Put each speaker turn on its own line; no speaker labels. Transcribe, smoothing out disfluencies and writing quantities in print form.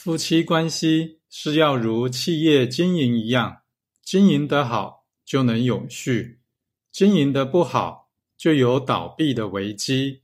夫妻关系是要如企业经营一样，经营得好就能永续，经营得不好就有倒闭的危机。